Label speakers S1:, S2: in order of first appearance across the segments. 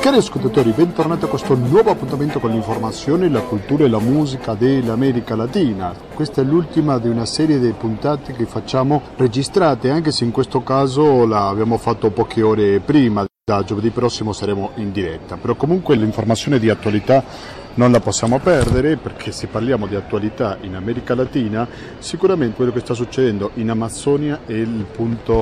S1: Cari ascoltatori, bentornati a questo nuovo appuntamento con l'informazione, la cultura e la musica dell'America Latina. Questa è l'ultima di una serie di puntate che facciamo registrate, anche se in questo caso l'abbiamo fatto poche ore prima. Da giovedì prossimo saremo in diretta, però comunque l'informazione di attualità non la possiamo perdere, perché se parliamo di attualità in America Latina, sicuramente quello che sta succedendo in Amazzonia è il punto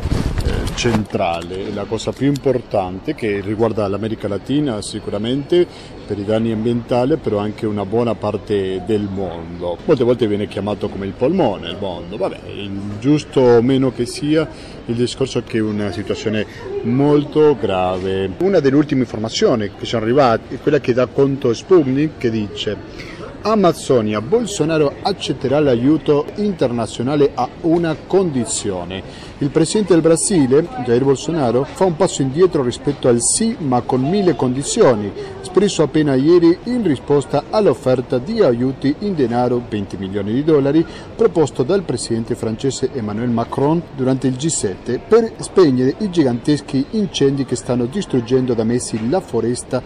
S1: centrale, la cosa più importante che riguarda l'America Latina sicuramente per i danni ambientali, però anche una buona parte del mondo. Molte volte viene chiamato come il polmone del mondo, vabbè, giusto o meno che sia, il discorso è che è una situazione molto grave. Una delle ultime informazioni che sono arrivate è quella che dà conto Sputnik, che dice: Amazzonia, Bolsonaro accetterà l'aiuto internazionale a una condizione. Il presidente del Brasile, Jair Bolsonaro, fa un passo indietro rispetto al sì ma con 1000 condizioni, espresso appena ieri in risposta all'offerta di aiuti in denaro, $20 milioni, proposto dal presidente francese Emmanuel Macron durante il G7 per spegnere i giganteschi incendi che stanno distruggendo da mesi la foresta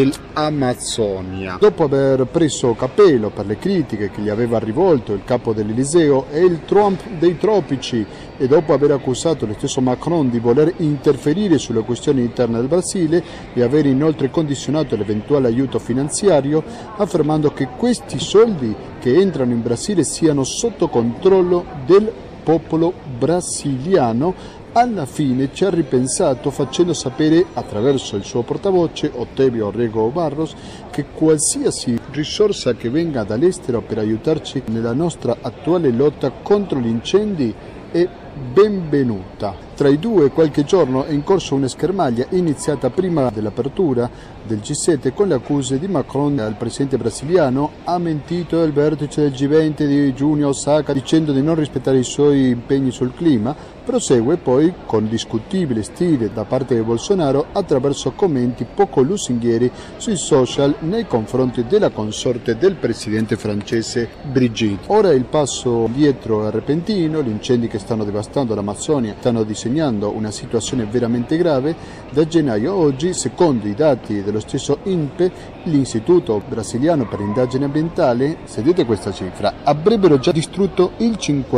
S1: dell'Amazzonia. Dopo aver preso capello per le critiche che gli aveva rivolto il capo dell'Eliseo e il Trump dei tropici, e dopo aver accusato lo stesso Macron di voler interferire sulle questioni interne del Brasile e aver inoltre condizionato l'eventuale aiuto finanziario, affermando che questi soldi che entrano in Brasile siano sotto controllo del popolo brasiliano, alla fine ci ha ripensato facendo sapere attraverso il suo portavoce Otávio Rego Barros che qualsiasi risorsa che venga dall'estero per aiutarci nella nostra attuale lotta contro gli incendi è benvenuta. Tra i due qualche giorno è in corso una schermaglia iniziata prima dell'apertura del G7 con le accuse di Macron al presidente brasiliano: ha mentito al vertice del G20 di giugno a Osaka dicendo di non rispettare i suoi impegni sul clima. Prosegue poi con discutibile stile da parte di Bolsonaro attraverso commenti poco lusinghieri sui social nei confronti della consorte del presidente francese Brigitte. Ora il passo indietro è repentino, gli incendi che stanno devastando l'Amazzonia stanno disegnando una situazione veramente grave. Da gennaio a oggi, secondo i dati dello stesso INPE, l'Istituto Brasiliano per l'Indagine Ambientale, sentite questa cifra, avrebbero già distrutto il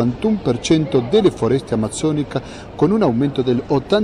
S1: 51% delle foreste amazzoniche, con un aumento del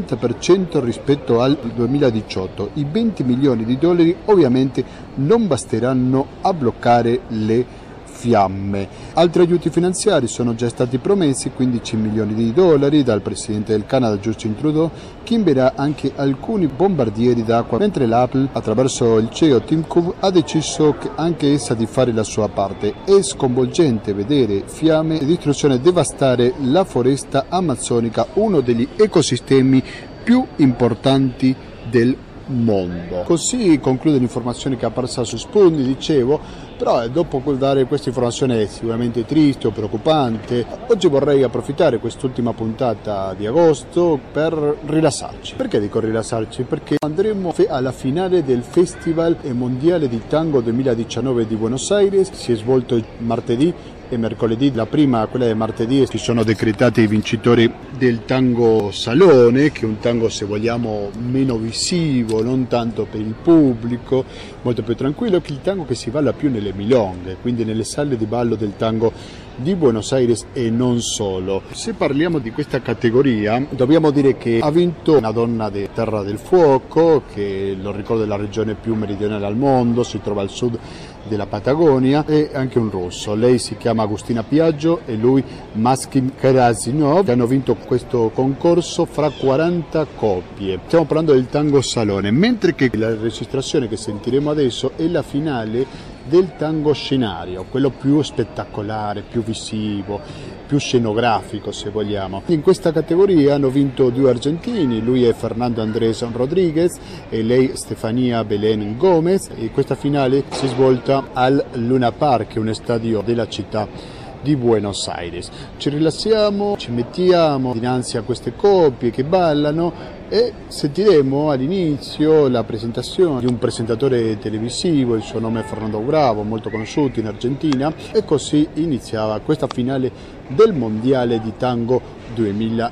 S1: 80% rispetto al 2018. I $20 milioni ovviamente non basteranno a bloccare le fiamme. Altri aiuti finanziari sono già stati promessi, $15 milioni dal presidente del Canada Justin Trudeau, che invierà anche alcuni bombardieri d'acqua, mentre l'Apple, attraverso il CEO Tim Cook, ha deciso anche essa di fare la sua parte. È sconvolgente vedere fiamme e distruzione devastare la foresta amazzonica, uno degli ecosistemi più importanti del mondo. Così conclude l'informazione che è apparsa su Sputnik, dicevo. Però dopo dare questa informazione sicuramente triste o preoccupante, oggi vorrei approfittare quest'ultima puntata di agosto per rilassarci. Perché dico rilassarci? Perché andremo alla finale del Festival Mondiale di Tango 2019 di Buenos Aires. Si è svolto martedì e mercoledì. La prima, quella di martedì, si sono decretati i vincitori del tango salone, che è un tango, se vogliamo, meno visivo, non tanto per il pubblico, molto più tranquillo, che il tango che si balla più nelle milonghe, quindi nelle sale di ballo del tango di Buenos Aires e non solo. Se parliamo di questa categoria, dobbiamo dire che ha vinto una donna di Terra del Fuoco, che lo ricordo è la regione più meridionale al mondo, si trova al sud della Patagonia, e anche un russo. Lei si chiama Agustina Piaggio e lui Maskim Karasinov, che hanno vinto questo concorso fra 40 coppie. Stiamo parlando del tango salone, mentre che la registrazione che sentiremo adesso è la finale del tango scenario, quello più spettacolare, più visivo, più scenografico, se vogliamo. In questa categoria hanno vinto due argentini, lui è Fernando Andrés Rodríguez e lei Stefania Belén Gómez, e questa finale si è svolta al Luna Park, che è uno stadio della città di Buenos Aires. Ci rilassiamo, ci mettiamo dinanzi a queste coppie che ballano e sentiremo all'inizio la presentazione di un presentatore televisivo, il suo nome è Fernando Bravo, molto conosciuto in Argentina, e così iniziava questa finale del Mondiale di Tango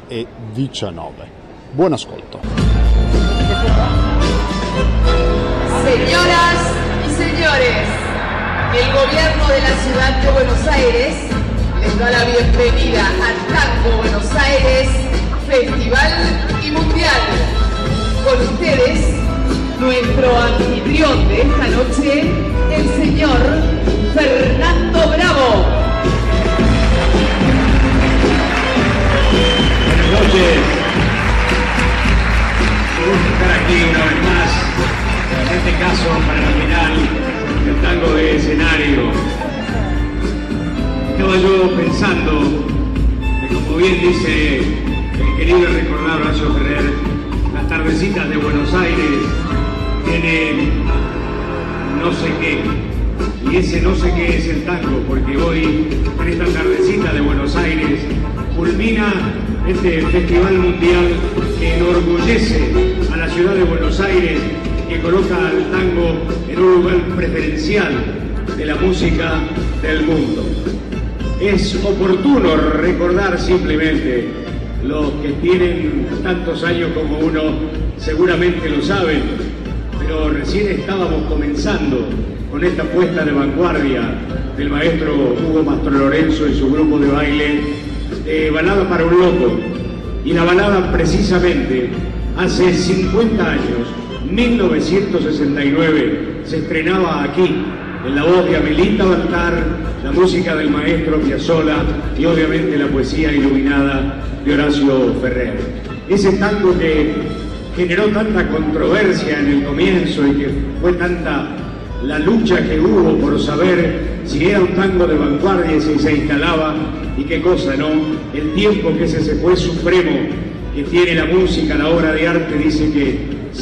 S1: 2019. Buon ascolto.
S2: Señoras y señores, el gobierno de la ciudad de Buenos Aires les da la bienvenida al Tango Buenos Aires Festival y Mundial. Con ustedes, nuestro anfitrión de esta noche, el señor Fernando Bravo.
S3: Buenas noches. Me gusta estar aquí una vez más, en este caso para la final del tango de escenario. Estaba yo pensando que, como bien dice el querido y recordado Horacio Ferrer, las tardecitas de Buenos Aires tienen no sé qué, y ese no sé qué es el tango, porque hoy, en esta tardecita de Buenos Aires, culmina este festival mundial que enorgullece a la ciudad de Buenos Aires, que coloca al tango en un lugar preferencial de la música del mundo. Es oportuno recordar simplemente, los que tienen tantos años como uno seguramente lo saben, pero recién estábamos comenzando con esta puesta de vanguardia del maestro Hugo Mastro Lorenzo y su grupo de baile, Balada para un Loco. Y la balada, precisamente, hace 50 años, 1969, se estrenaba aquí, en la voz de Amelita Baltar, la música del maestro Piazzolla y obviamente la poesía iluminada de Horacio Ferrer. Ese tango que generó tanta controversia en el comienzo y que fue tanta la lucha que hubo por saber si era un tango de vanguardia y si se instalaba, y qué cosa, ¿no? El tiempo que ese fue supremo que tiene la música, la obra de arte, dice que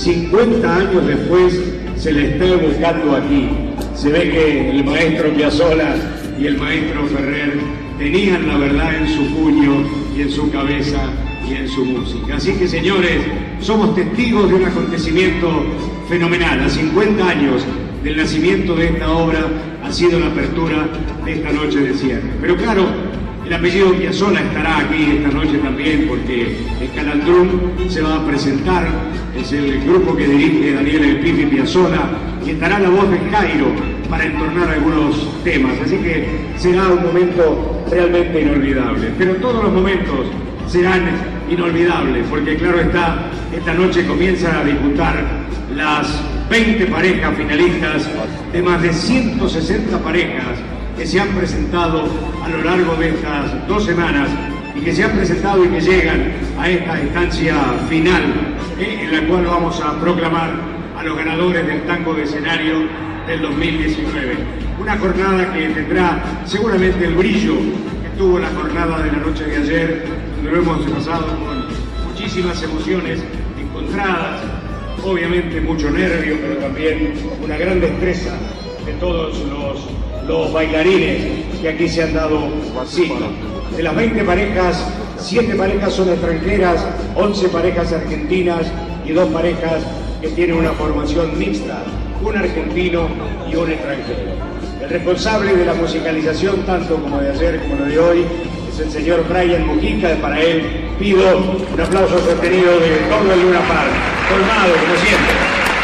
S3: 50 años después se le está buscando aquí. Se ve que el maestro Piazzolla y el maestro Ferrer tenían la verdad en su puño y en su cabeza y en su música. Así que, señores, somos testigos de un acontecimiento fenomenal. A 50 años del nacimiento de esta obra ha sido la apertura de esta noche de cierre. Pero claro, el apellido Piazzolla estará aquí esta noche también, porque el Calandrum se va a presentar, es el grupo que dirige Daniel El Pipi Piazzolla, y estará la voz de Jairo para entornar algunos temas, así que será un momento realmente inolvidable. Pero todos los momentos serán inolvidables, porque claro está, esta noche comienzan a disputar las 20 parejas finalistas de más de 160 parejas que se han presentado a lo largo de estas 2 semanas y que se han presentado y que llegan a esta instancia final, en la cual vamos a proclamar a los ganadores del tango de escenario del 2019. Una jornada que tendrá seguramente el brillo que tuvo la jornada de la noche de ayer, donde lo hemos pasado con muchísimas emociones encontradas, obviamente mucho nervio, pero también una gran destreza de todos los bailarines que aquí se han dado cita. De las 20 parejas, 7 parejas son extranjeras, 11 parejas argentinas y 2 parejas que tienen una formación mixta, un argentino y un extranjero. El responsable de la musicalización, tanto como de ayer como de hoy, es el señor Brian Mujica. Para él pido un aplauso sostenido de todo el Luna Park, colmado como siempre.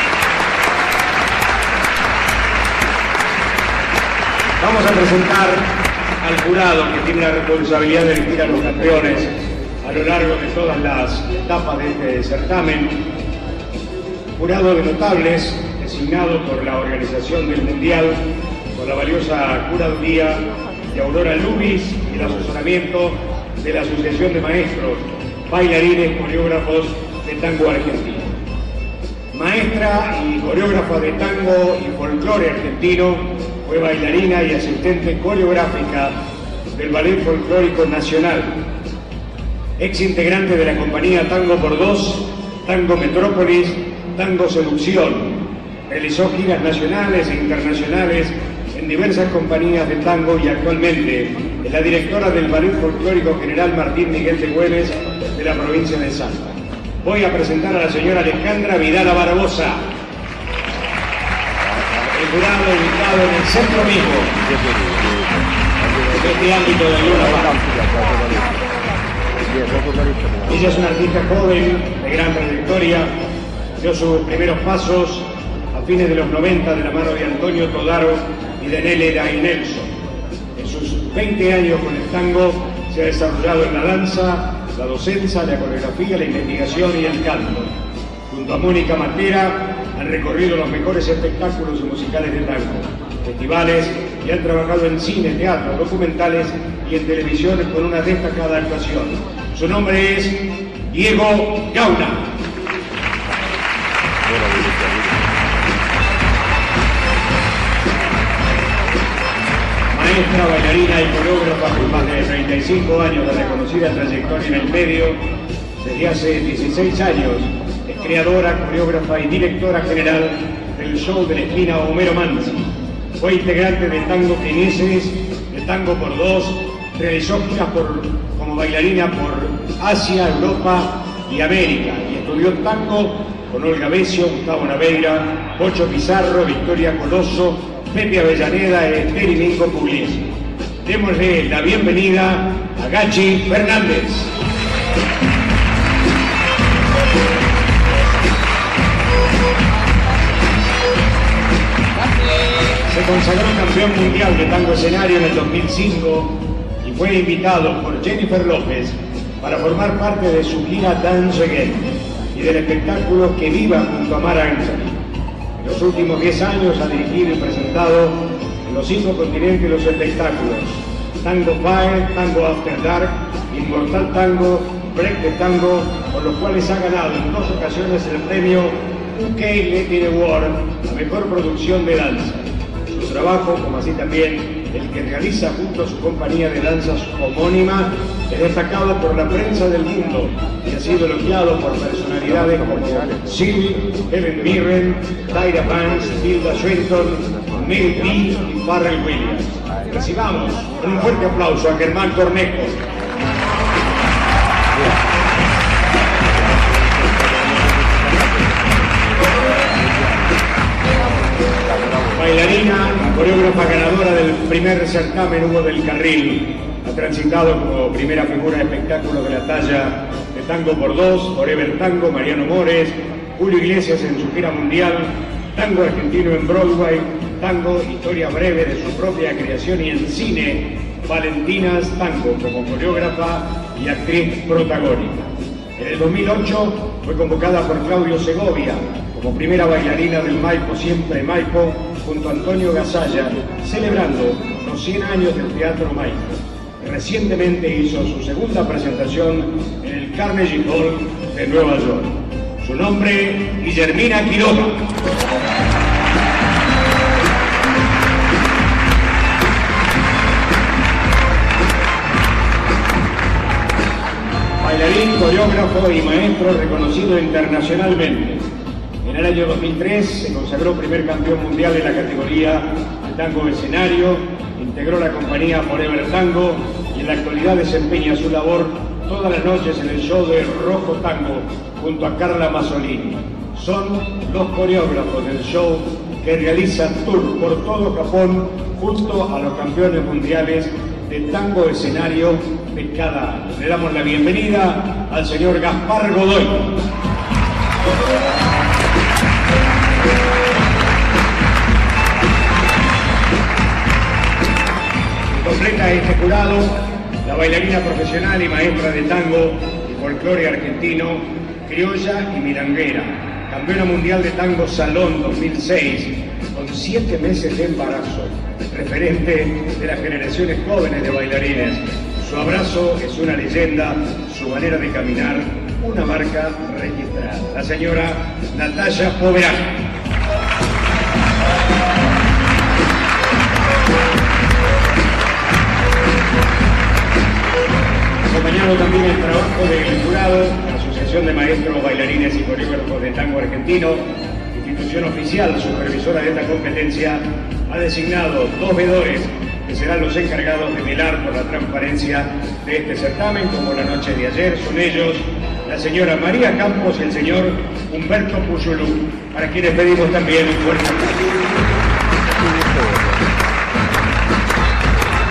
S3: Vamos a presentar al jurado que tiene la responsabilidad de elegir a los campeones a lo largo de todas las etapas de este certamen. Jurado de notables, designado por la organización del Mundial, con la valiosa curaduría de Aurora Lubis y el asesoramiento de la Asociación de Maestros, Bailarines, Coreógrafos de Tango Argentino. Maestra y coreógrafa de tango y folclore argentino, fue bailarina y asistente coreográfica del Ballet Folclórico Nacional. Ex integrante de la compañía Tango por Dos, Tango Metrópolis, Tango Seducción. Realizó giras nacionales e internacionales en diversas compañías de tango y actualmente es la directora del Ballet Folclórico General Martín Miguel de Güemes de la provincia de Salta. Voy a presentar a la señora Alejandra Vidala Barbosa. El jurado ubicado en el centro mismo de este ámbito de Luna Park. Ella es una artista joven, de gran trayectoria, dio sus primeros pasos a a fines de los 90 de la mano de Antonio Todaro y de Nélida y Nelson. En sus 20 años con el tango se ha desarrollado en la danza, la docencia, la coreografía, la investigación y el canto. Junto a Mónica Matera han recorrido los mejores espectáculos musicales de tango, festivales, y han trabajado en cine, teatro, documentales y en televisión con una destacada actuación. Su nombre es Diego Gauna. Maestra, bailarina y coreógrafa con más de 35 años de reconocida trayectoria en el medio, desde hace 16 años es creadora, coreógrafa y directora general del show de la esquina Homero Manzi. Fue integrante de Tango Quineses, de Tango por Dos, realizó giras como bailarina por Asia, Europa y América, y estudió tango con Olga Besio, Gustavo Naveira, Pocho Pizarro, Victoria Colosso, Pepe Avellaneda y Esther y Mingo Pugliese. Démosle la bienvenida a Gachi Fernández. Se consagró campeón mundial de tango escenario en el 2005 y fue invitado por Jennifer López para formar parte de su gira Dance Again y del espectáculo Que Viva junto a Mar Anthony. En los últimos 10 años ha dirigido y presentado en los 5 continentes los espectáculos Tango Fire, Tango After Dark, Inmortal Tango, Break the Tango, por los cuales ha ganado en 2 ocasiones el premio UK Latin Award a Mejor Producción de Danza. Su trabajo, como así también el que realiza junto a su compañía de danzas homónima, es destacado por la prensa del mundo y ha sido elogiado por personalidades como Sil, Helen Mirren, Tyra Banks, Tilda Swinton, Mel B y Pharrell Williams. Recibamos con un fuerte aplauso a Germán Cornejo. Bailarina, coreógrafa ganadora del primer certamen Hugo del Carril, ha transitado como primera figura de espectáculos de la talla de Tango por Dos, Forever Tango, Mariano Mores, Julio Iglesias en su gira mundial, tango argentino en Broadway, tango, historia breve de su propia creación y en cine, Valentinas Tango como coreógrafa y actriz protagónica. En el 2008 fue convocada por Claudio Segovia como primera bailarina del Maipo Siempre Maipo junto a Antonio Gasalla, celebrando los 100 años del Teatro Maipo. Recientemente hizo su segunda presentación en el Carnegie Hall de Nueva York. Su nombre, Guillermina Quiroga. Bailarín, coreógrafo y maestro reconocido internacionalmente. En el año 2003 se consagró primer campeón mundial en la categoría de tango escenario, integró la compañía Forever Tango y en la actualidad desempeña su labor todas las noches en el show de Rojo Tango junto a Carla Mazzolini. Son los coreógrafos del show que realizan tour por todo Japón junto a los campeones mundiales de tango escenario de cada año. Le damos la bienvenida al señor Gaspar Godoy. Completa este jurado la bailarina profesional y maestra de tango y folclore argentino, criolla y milanguera, campeona mundial de tango Salón 2006, con 7 meses de embarazo, referente de las generaciones jóvenes de bailarines. Su abrazo es una leyenda, su manera de caminar, una marca registrada. La señora Natalia Poverán. Acompañado también el trabajo del jurado, la Asociación de Maestros, Bailarines y Coreógrafos de Tango Argentino, institución oficial supervisora de esta competencia, ha designado 2 veedores que serán los encargados de velar por la transparencia de este certamen, como la noche de ayer. Son ellos la señora María Campos y el señor Humberto Puyulú, para quienes pedimos también un fuerte aplauso. Su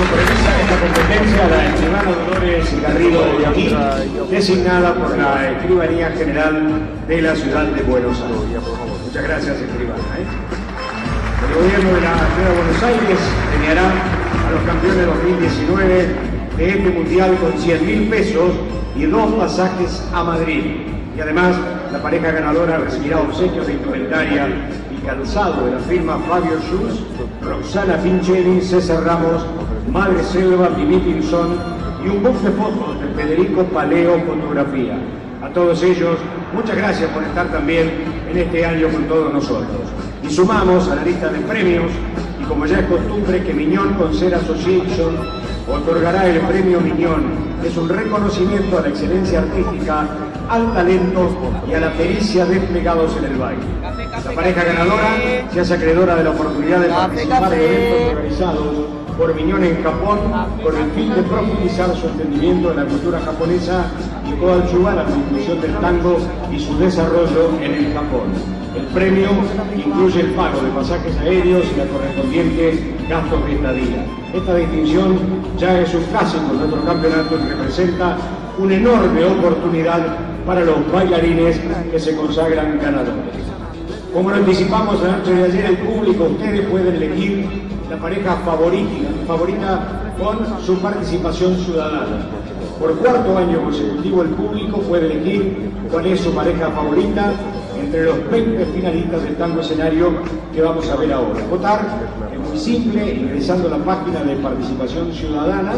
S3: supervisa esta competencia la escribana Dolores Garrido de Yamí, designada por la Escribanía General de la Ciudad de Buenos Aires. Muchas gracias, escribana. El gobierno de la Ciudad de Buenos Aires premiará a los campeones 2019 de este mundial con 100.000 pesos y 2 pasajes a Madrid. Y además, la pareja ganadora recibirá obsequios de indumentaria y calzado de la firma Fabio Schultz, Roxana Pincheri, César Ramos, Madre Selva, Mimi Pinzón y un book de fotos de Federico Paleo Fotografía. A todos ellos, muchas gracias por estar también en este año con todos nosotros. Y sumamos a la lista de premios, y como ya es costumbre que Miñón Concert Association otorgará el premio Miñón. Es un reconocimiento a la excelencia artística, al talento y a la pericia desplegados en el baile. La pareja ganadora se hace acreedora de la oportunidad de participar de eventos organizados por Miñón en Japón con el fin de profundizar su entendimiento de la cultura japonesa y coadyuvar a la inclusión del tango y su desarrollo en el Japón. El premio incluye el pago de pasajes aéreos y la correspondiente gastos de estadía. Esta distinción ya es un clásico en nuestro campeonato y representa una enorme oportunidad para los bailarines que se consagran ganadores. Como lo anticipamos la noche de ayer, el público, ustedes pueden elegir la pareja favorita con su participación ciudadana. Por cuarto año consecutivo, el público puede elegir cuál es su pareja favorita entre los 20 finalistas del tango escenario que vamos a ver ahora. Votar es muy simple, ingresando a la página de participación ciudadana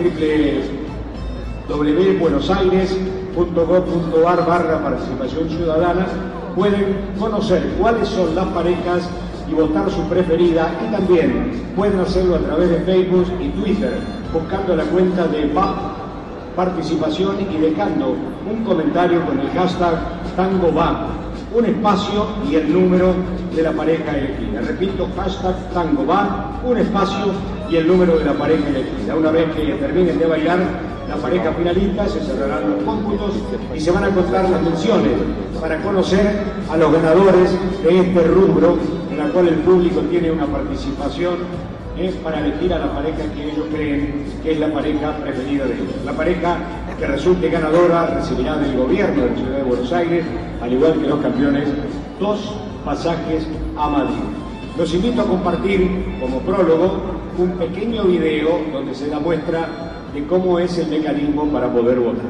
S3: www.buenosaires.gov.ar/participación ciudadana. Pueden conocer cuáles son las parejas y votar su preferida, y también pueden hacerlo a través de Facebook y Twitter, buscando la cuenta de participación y dejando un comentario con el hashtag TangoVa, un espacio y el número de la pareja elegida. Repito, hashtag TangoVa, un espacio y el número de la pareja elegida. Una vez que terminen de bailar, la pareja finalista, se cerrarán los cómputos y se van a contar las menciones para conocer a los ganadores de este rubro, en la cual el público tiene una participación para elegir a la pareja que ellos creen que es la pareja preferida de ellos. La pareja que resulte ganadora recibirá del gobierno de la Ciudad de Buenos Aires, al igual que los campeones, 2 pasajes a Madrid. Los invito a compartir como prólogo un pequeño video donde se da muestra de cómo es el mecanismo para poder votar.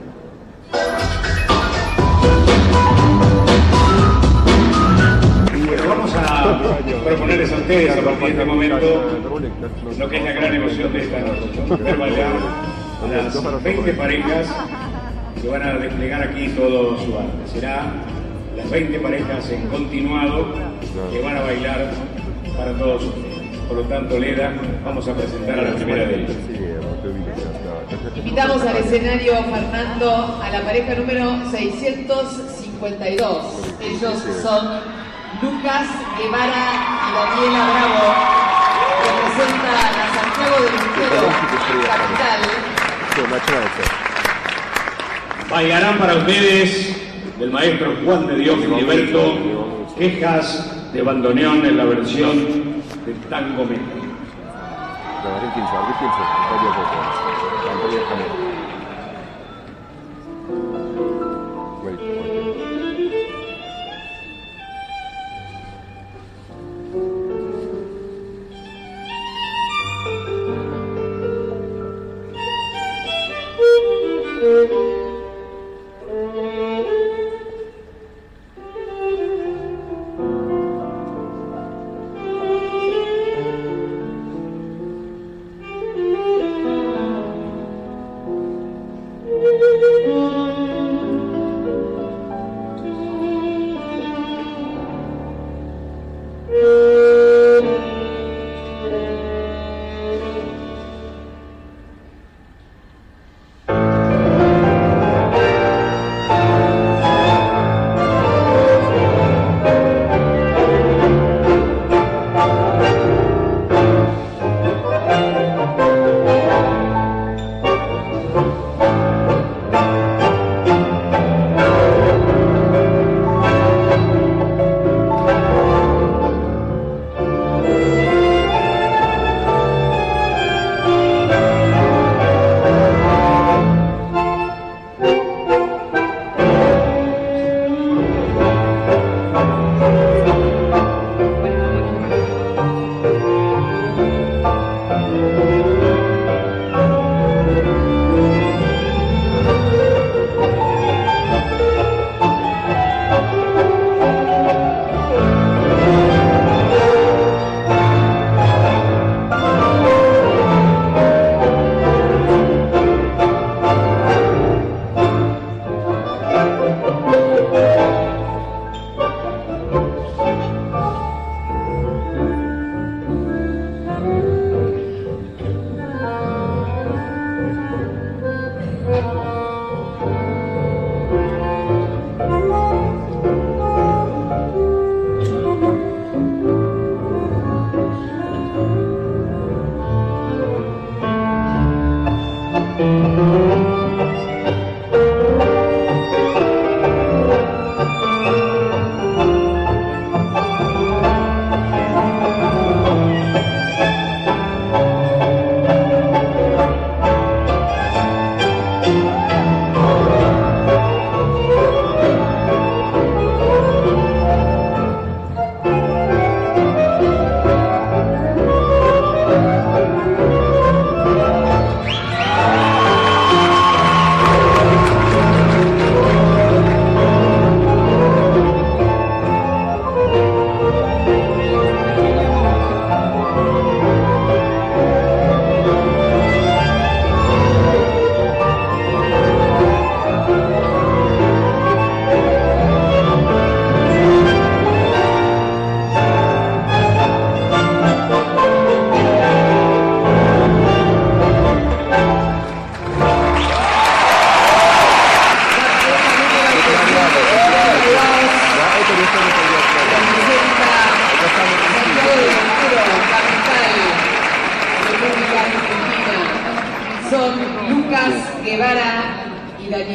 S3: Bueno, vamos a proponerles a ustedes a partir de este momento lo que es la gran emoción de esta noche, ver bailar a las 20 parejas que van a desplegar aquí todo su arte. Será las 20 parejas en continuado que van a bailar para todos ustedes. Por lo tanto, Leda, vamos a presentar a la primera de ellas.
S2: Invitamos al escenario, Fernando, a la pareja número 652. Ellos son Lucas Guevara y Daniela Bravo. Representa a Santiago del Estero, capital.
S3: Bailarán para ustedes del maestro Juan de Dios Filiberto, Quejas de bandoneón en la versión del tango mexicano.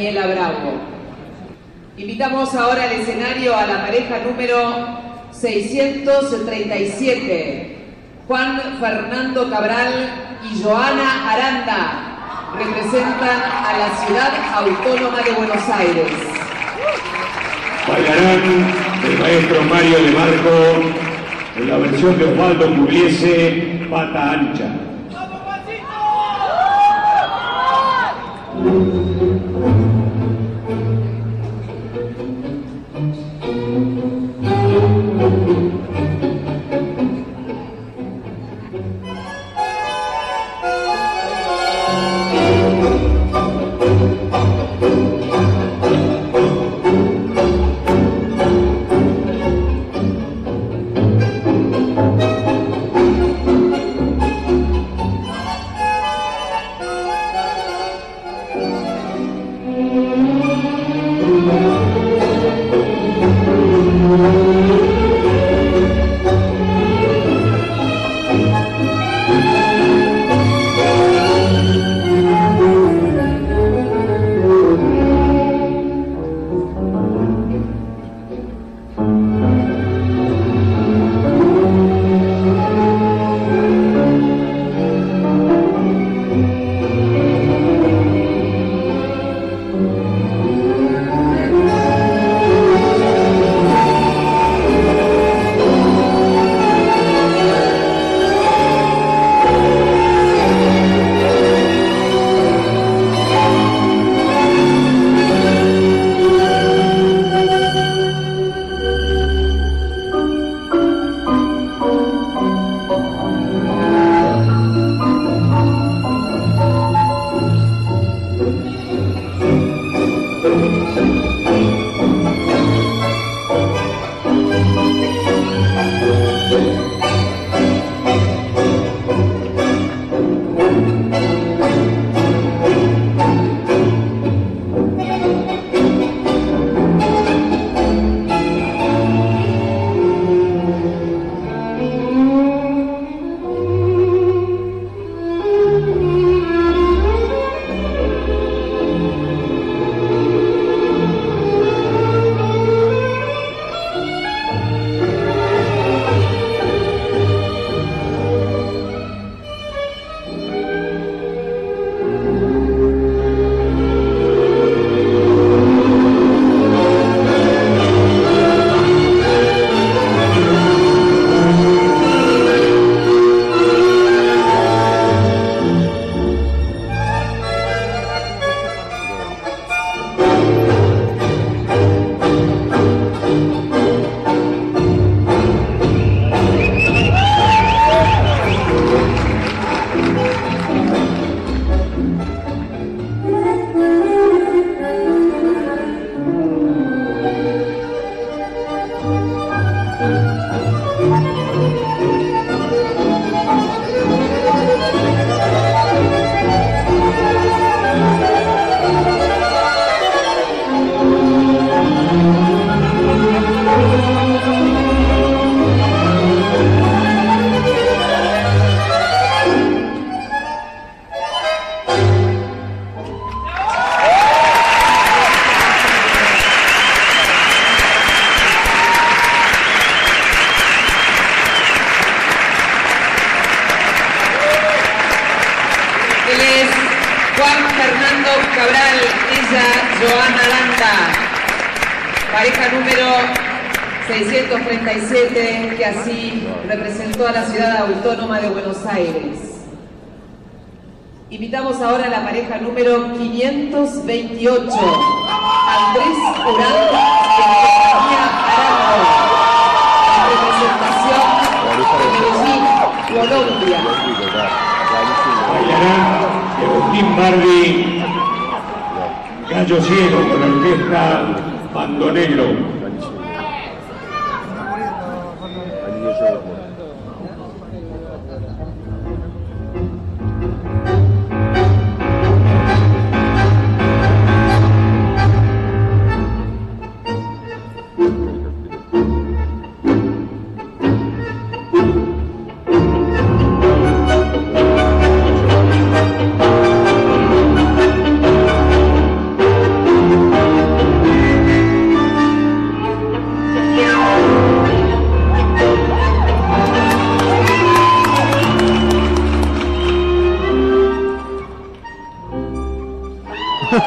S2: Daniela Bravo. Invitamos ahora al escenario a la pareja número 637, Juan Fernando Cabral y Joana Aranda. Representan a la Ciudad Autónoma de Buenos Aires.
S3: Bailarán el maestro Mario de Marco en la versión de Osvaldo Pugliese, Pata Ancha.
S2: Juan Fernando Cabral, ella Joana Aranda, pareja número 637, que así representó a la Ciudad Autónoma de Buenos Aires. Invitamos ahora a la pareja número 528, Andrés Uranda y Estefanía Arango, en representación de Medellín, Colombia.
S3: Bailarán Agustín Bardi, Gallo Ciego con la orquesta Bando Negro.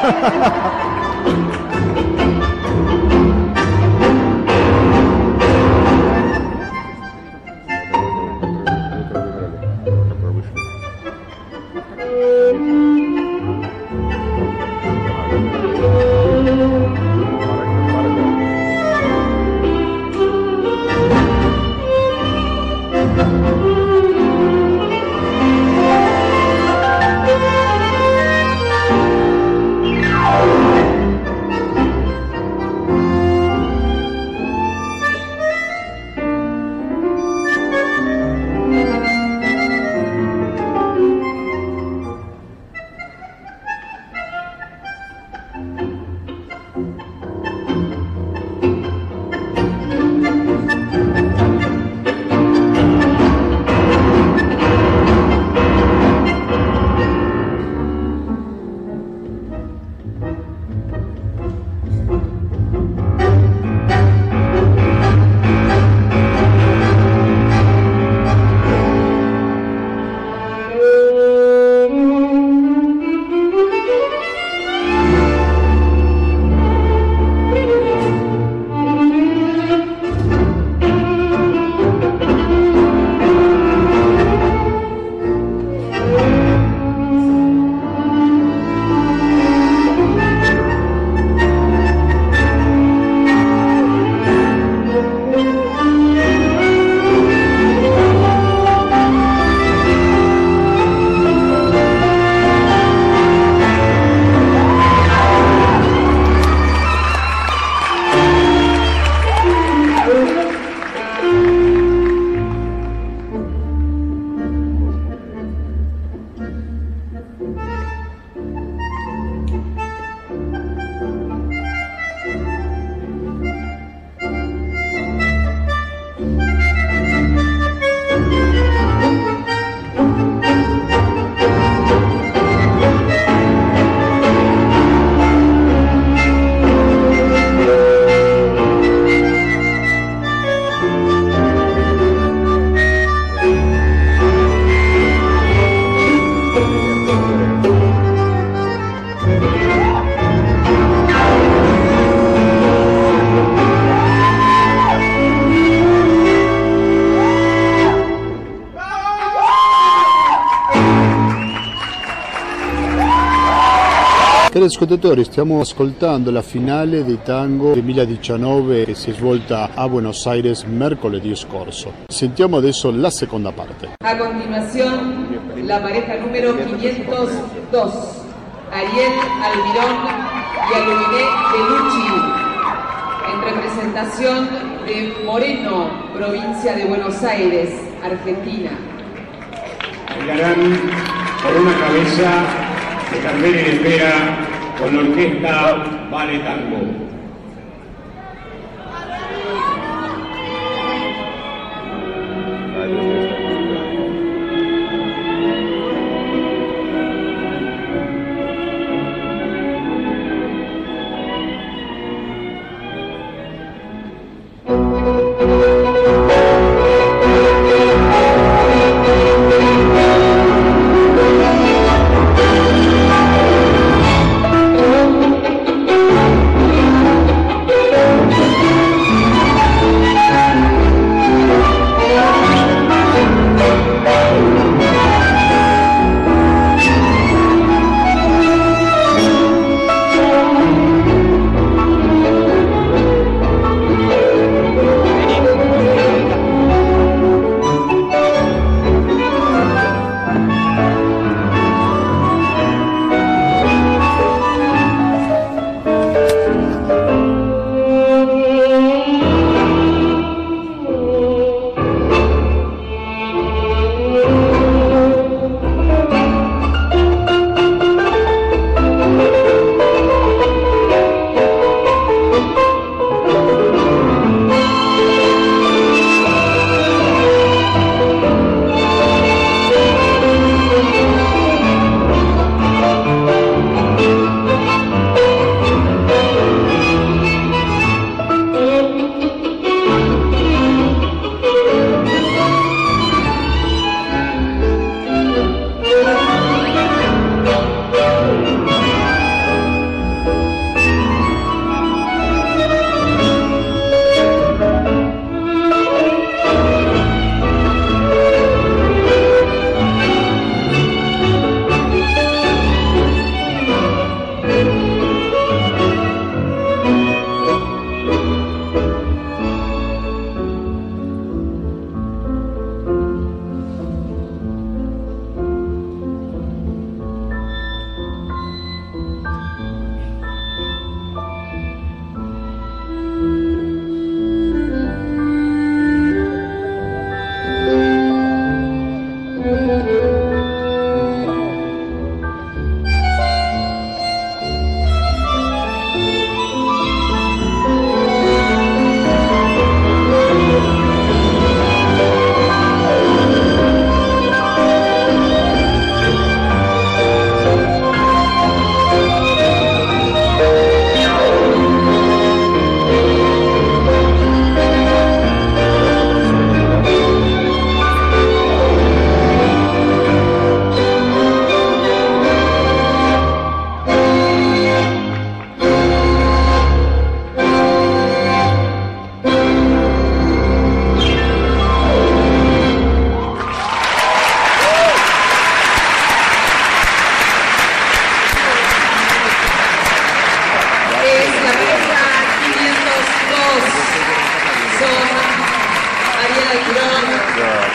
S1: Cari ascoltatori, stiamo ascoltando la finale di Tango 2019 che si è svolta a Buenos Aires mercoledì scorso. Sentiamo adesso la seconda parte.
S2: A continuación, la pareja número 502, Ariel Almirón y Aluminé Bellucci, en representación de Moreno, provincia de Buenos Aires, Argentina.
S3: Bailarán por una cabeza de Carmen en espera con la orquesta Vale Tango.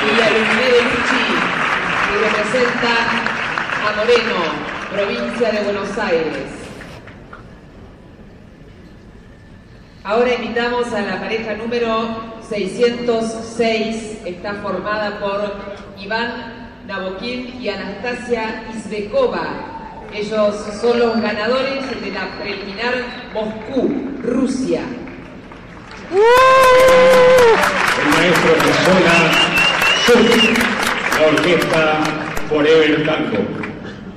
S2: Villa Lumine Luchi, y representa a Moreno, provincia de Buenos Aires. Ahora invitamos a la pareja número 606, está formada por Iván Nabokhin y Anastasia Izbekova. Ellos son los ganadores de la preliminar Moscú, Rusia.
S3: El maestro Piazzolla, la orquesta Forever Tango.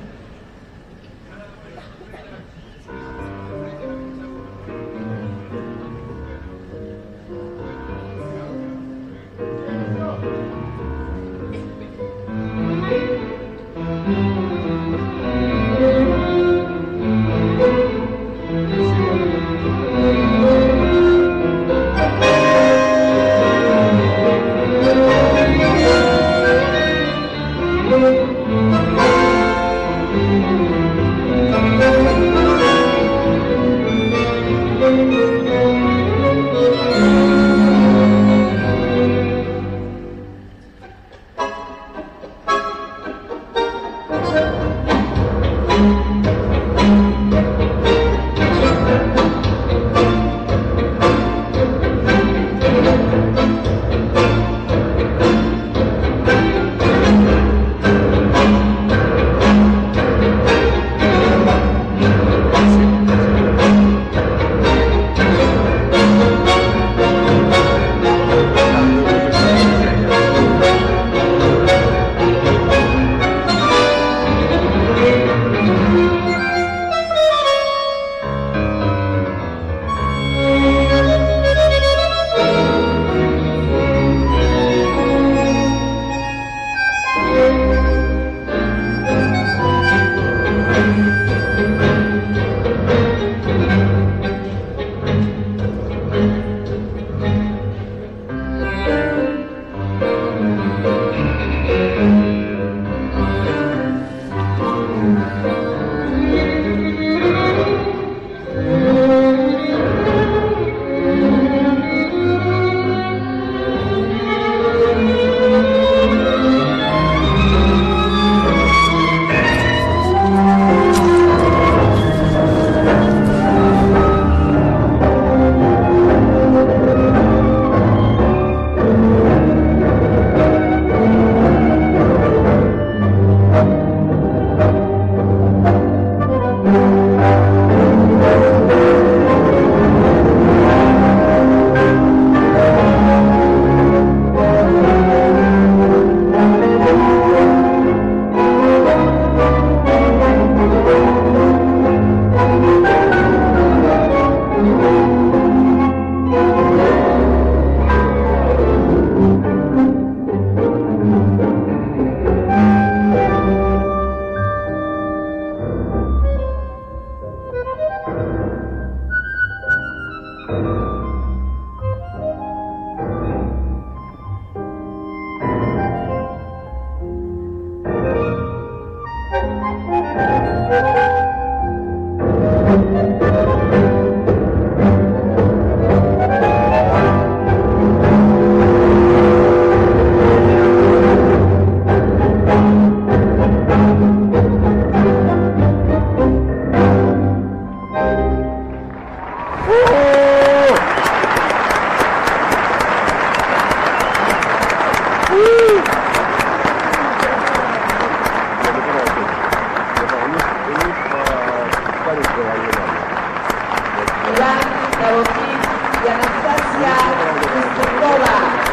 S2: y Anastasia Izbekova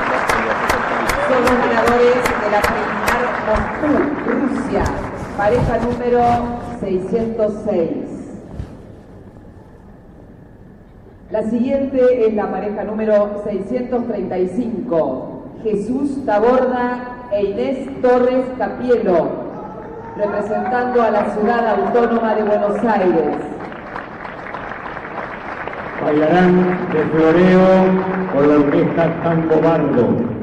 S2: son los ganadores de la preliminar Moscú, Rusia, pareja número 606. La siguiente es la pareja número 635, Jesús Taborda e Inés Torres Capielo, representando a la ciudad autónoma de Buenos Aires.
S3: Bailarán de floreo con la orquesta Tango Bardo.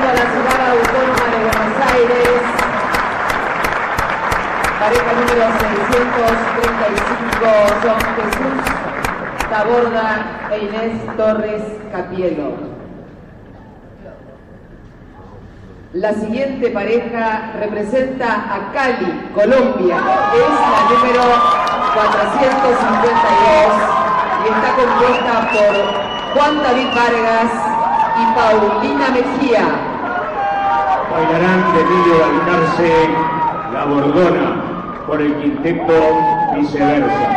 S2: a la Ciudad Autónoma de Buenos Aires, pareja número 635, John Jesús Taborda e Inés Torres Capielo. La siguiente pareja representa a Cali, Colombia, es la número 452 y está compuesta por Juan David Vargas y Paulina Mejía.
S3: Bailarán de Emilio Balcarce La Bordona por el quinteto Viceversa.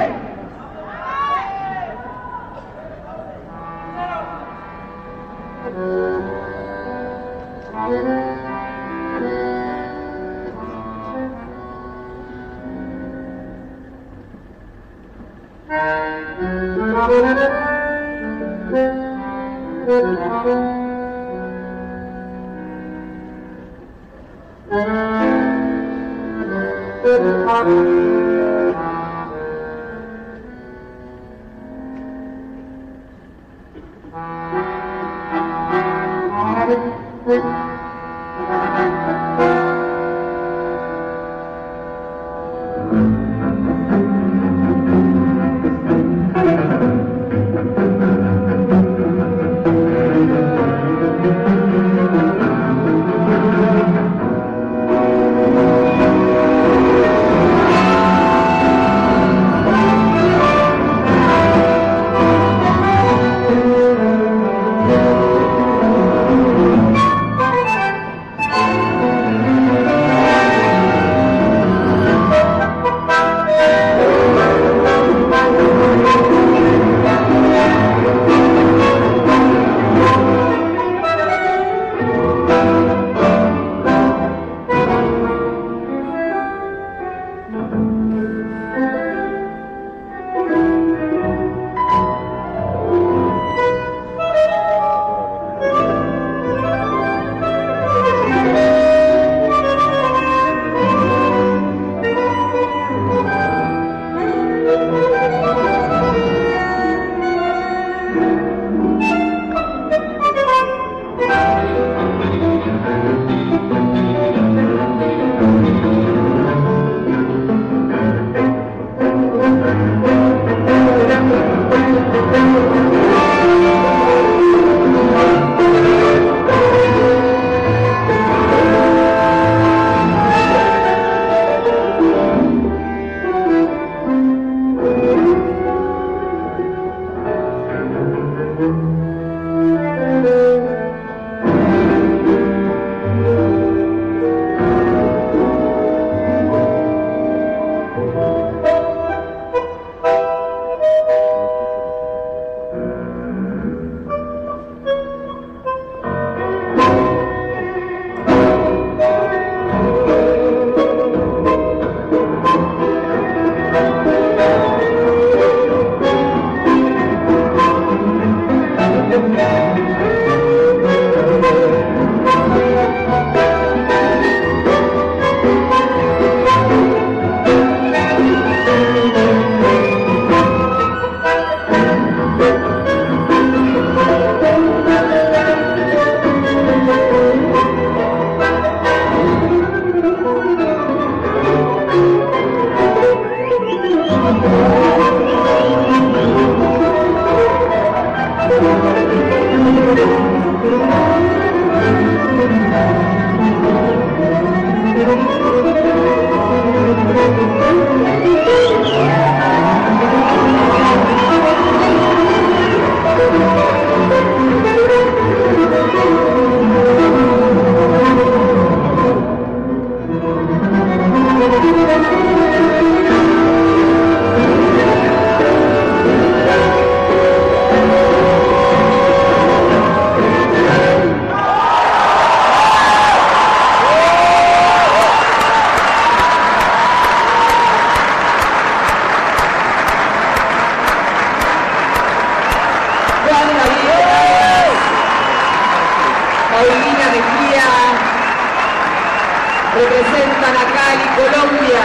S2: representan a Cali, Colombia.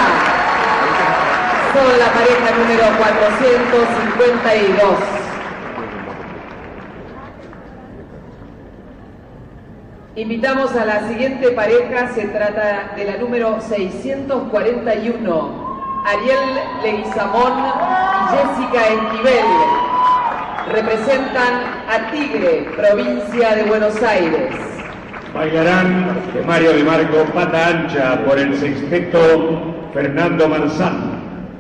S2: Son la pareja número 452. Invitamos a la siguiente pareja, se trata de la número 641, Ariel Leguizamón y Jessica Esquivel. Representan a Tigre, provincia de Buenos Aires.
S3: Bailarán Mario de Marco Pata Ancha por el sexteto Fernando Marzán.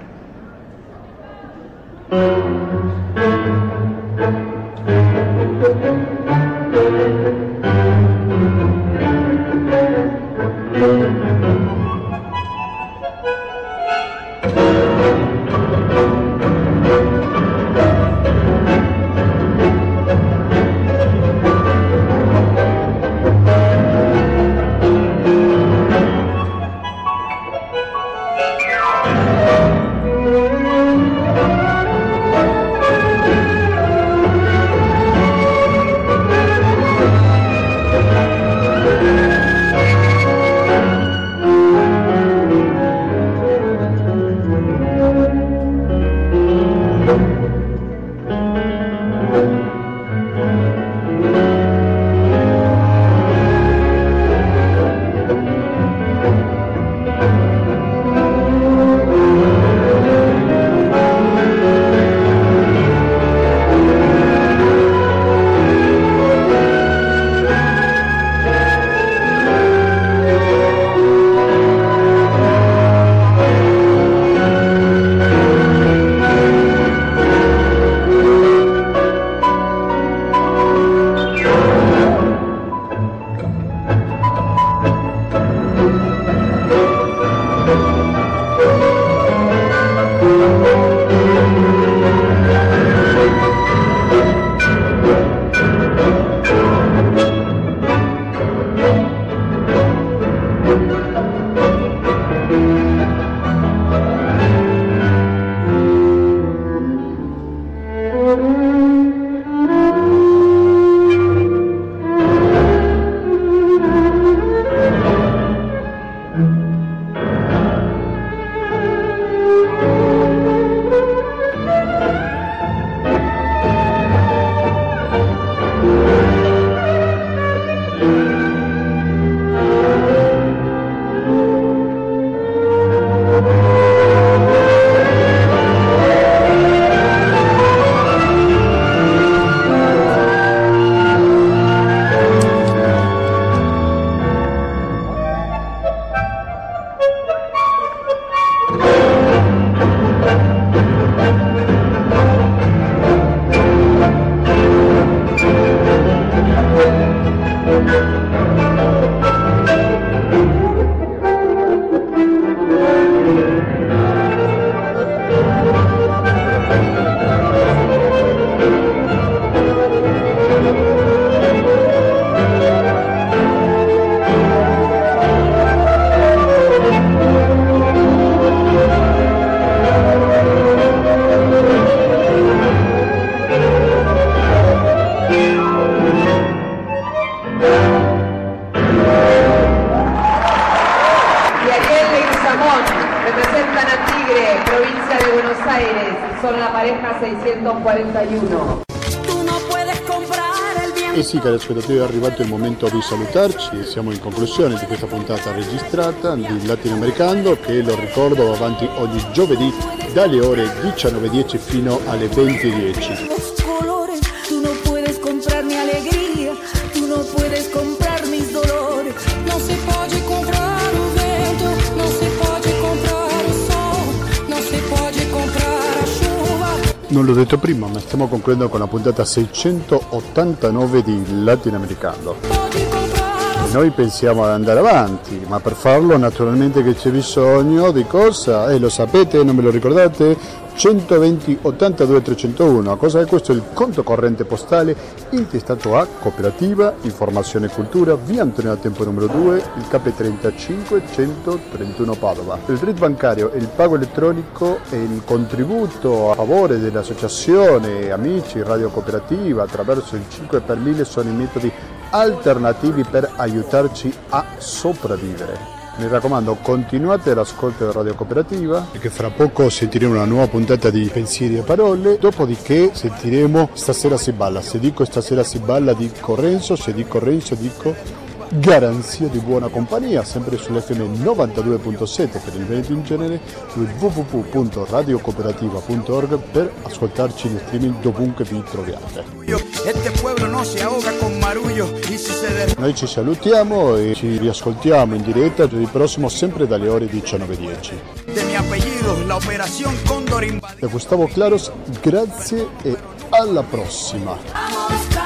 S2: Representan a Tigre, provincia de Buenos Aires, sono la pareja 641.
S4: Tu non puoi comprare il bien.
S1: E sì, cari ascoltatori, è arrivato il momento di salutarci. Siamo in conclusione di questa puntata registrata di Latinoamericano, che lo ricordo va avanti ogni giovedì dalle ore 19:10 fino alle 20:10.
S4: Tu non puoi comprarmi allegria, tu non puoi comprar mis dolores. Non si può comprare il vento, non si può comprare il sole, non si può comprare la chuva.
S1: Non l'ho detto prima, ma stiamo concludendo con la puntata 689 di Latinoamericano. E noi pensiamo ad andare avanti, ma per farlo naturalmente che c'è bisogno di cosa? Lo sapete, non me lo ricordate? 120 82 301. Cosa è questo? Il conto corrente postale intestato a Cooperativa Informazione e Cultura, via Antonio da Tempo numero 2, il KP35 131 Padova. Il RID bancario e il pago elettronico e il contributo a favore dell'associazione Amici Radio Cooperativa attraverso il 5 per 1000 sono i metodi alternativi per aiutarci a sopravvivere. Mi raccomando, continuate l'ascolto della Radio Cooperativa, perché fra poco sentiremo una nuova puntata di Pensieri e Parole, dopodiché sentiremo Stasera si balla. Se dico Stasera si balla dico Renzo, se dico Renzo dico garanzia di buona compagnia, sempre sull'FM 92.7 per il Veneto in genere, su www.radiocooperativa.org per ascoltarci in streaming dovunque vi troviate. Noi ci salutiamo e ci riascoltiamo in diretta giovedì prossimo sempre dalle ore 19:10. Da Gustavo Claros, grazie e alla prossima.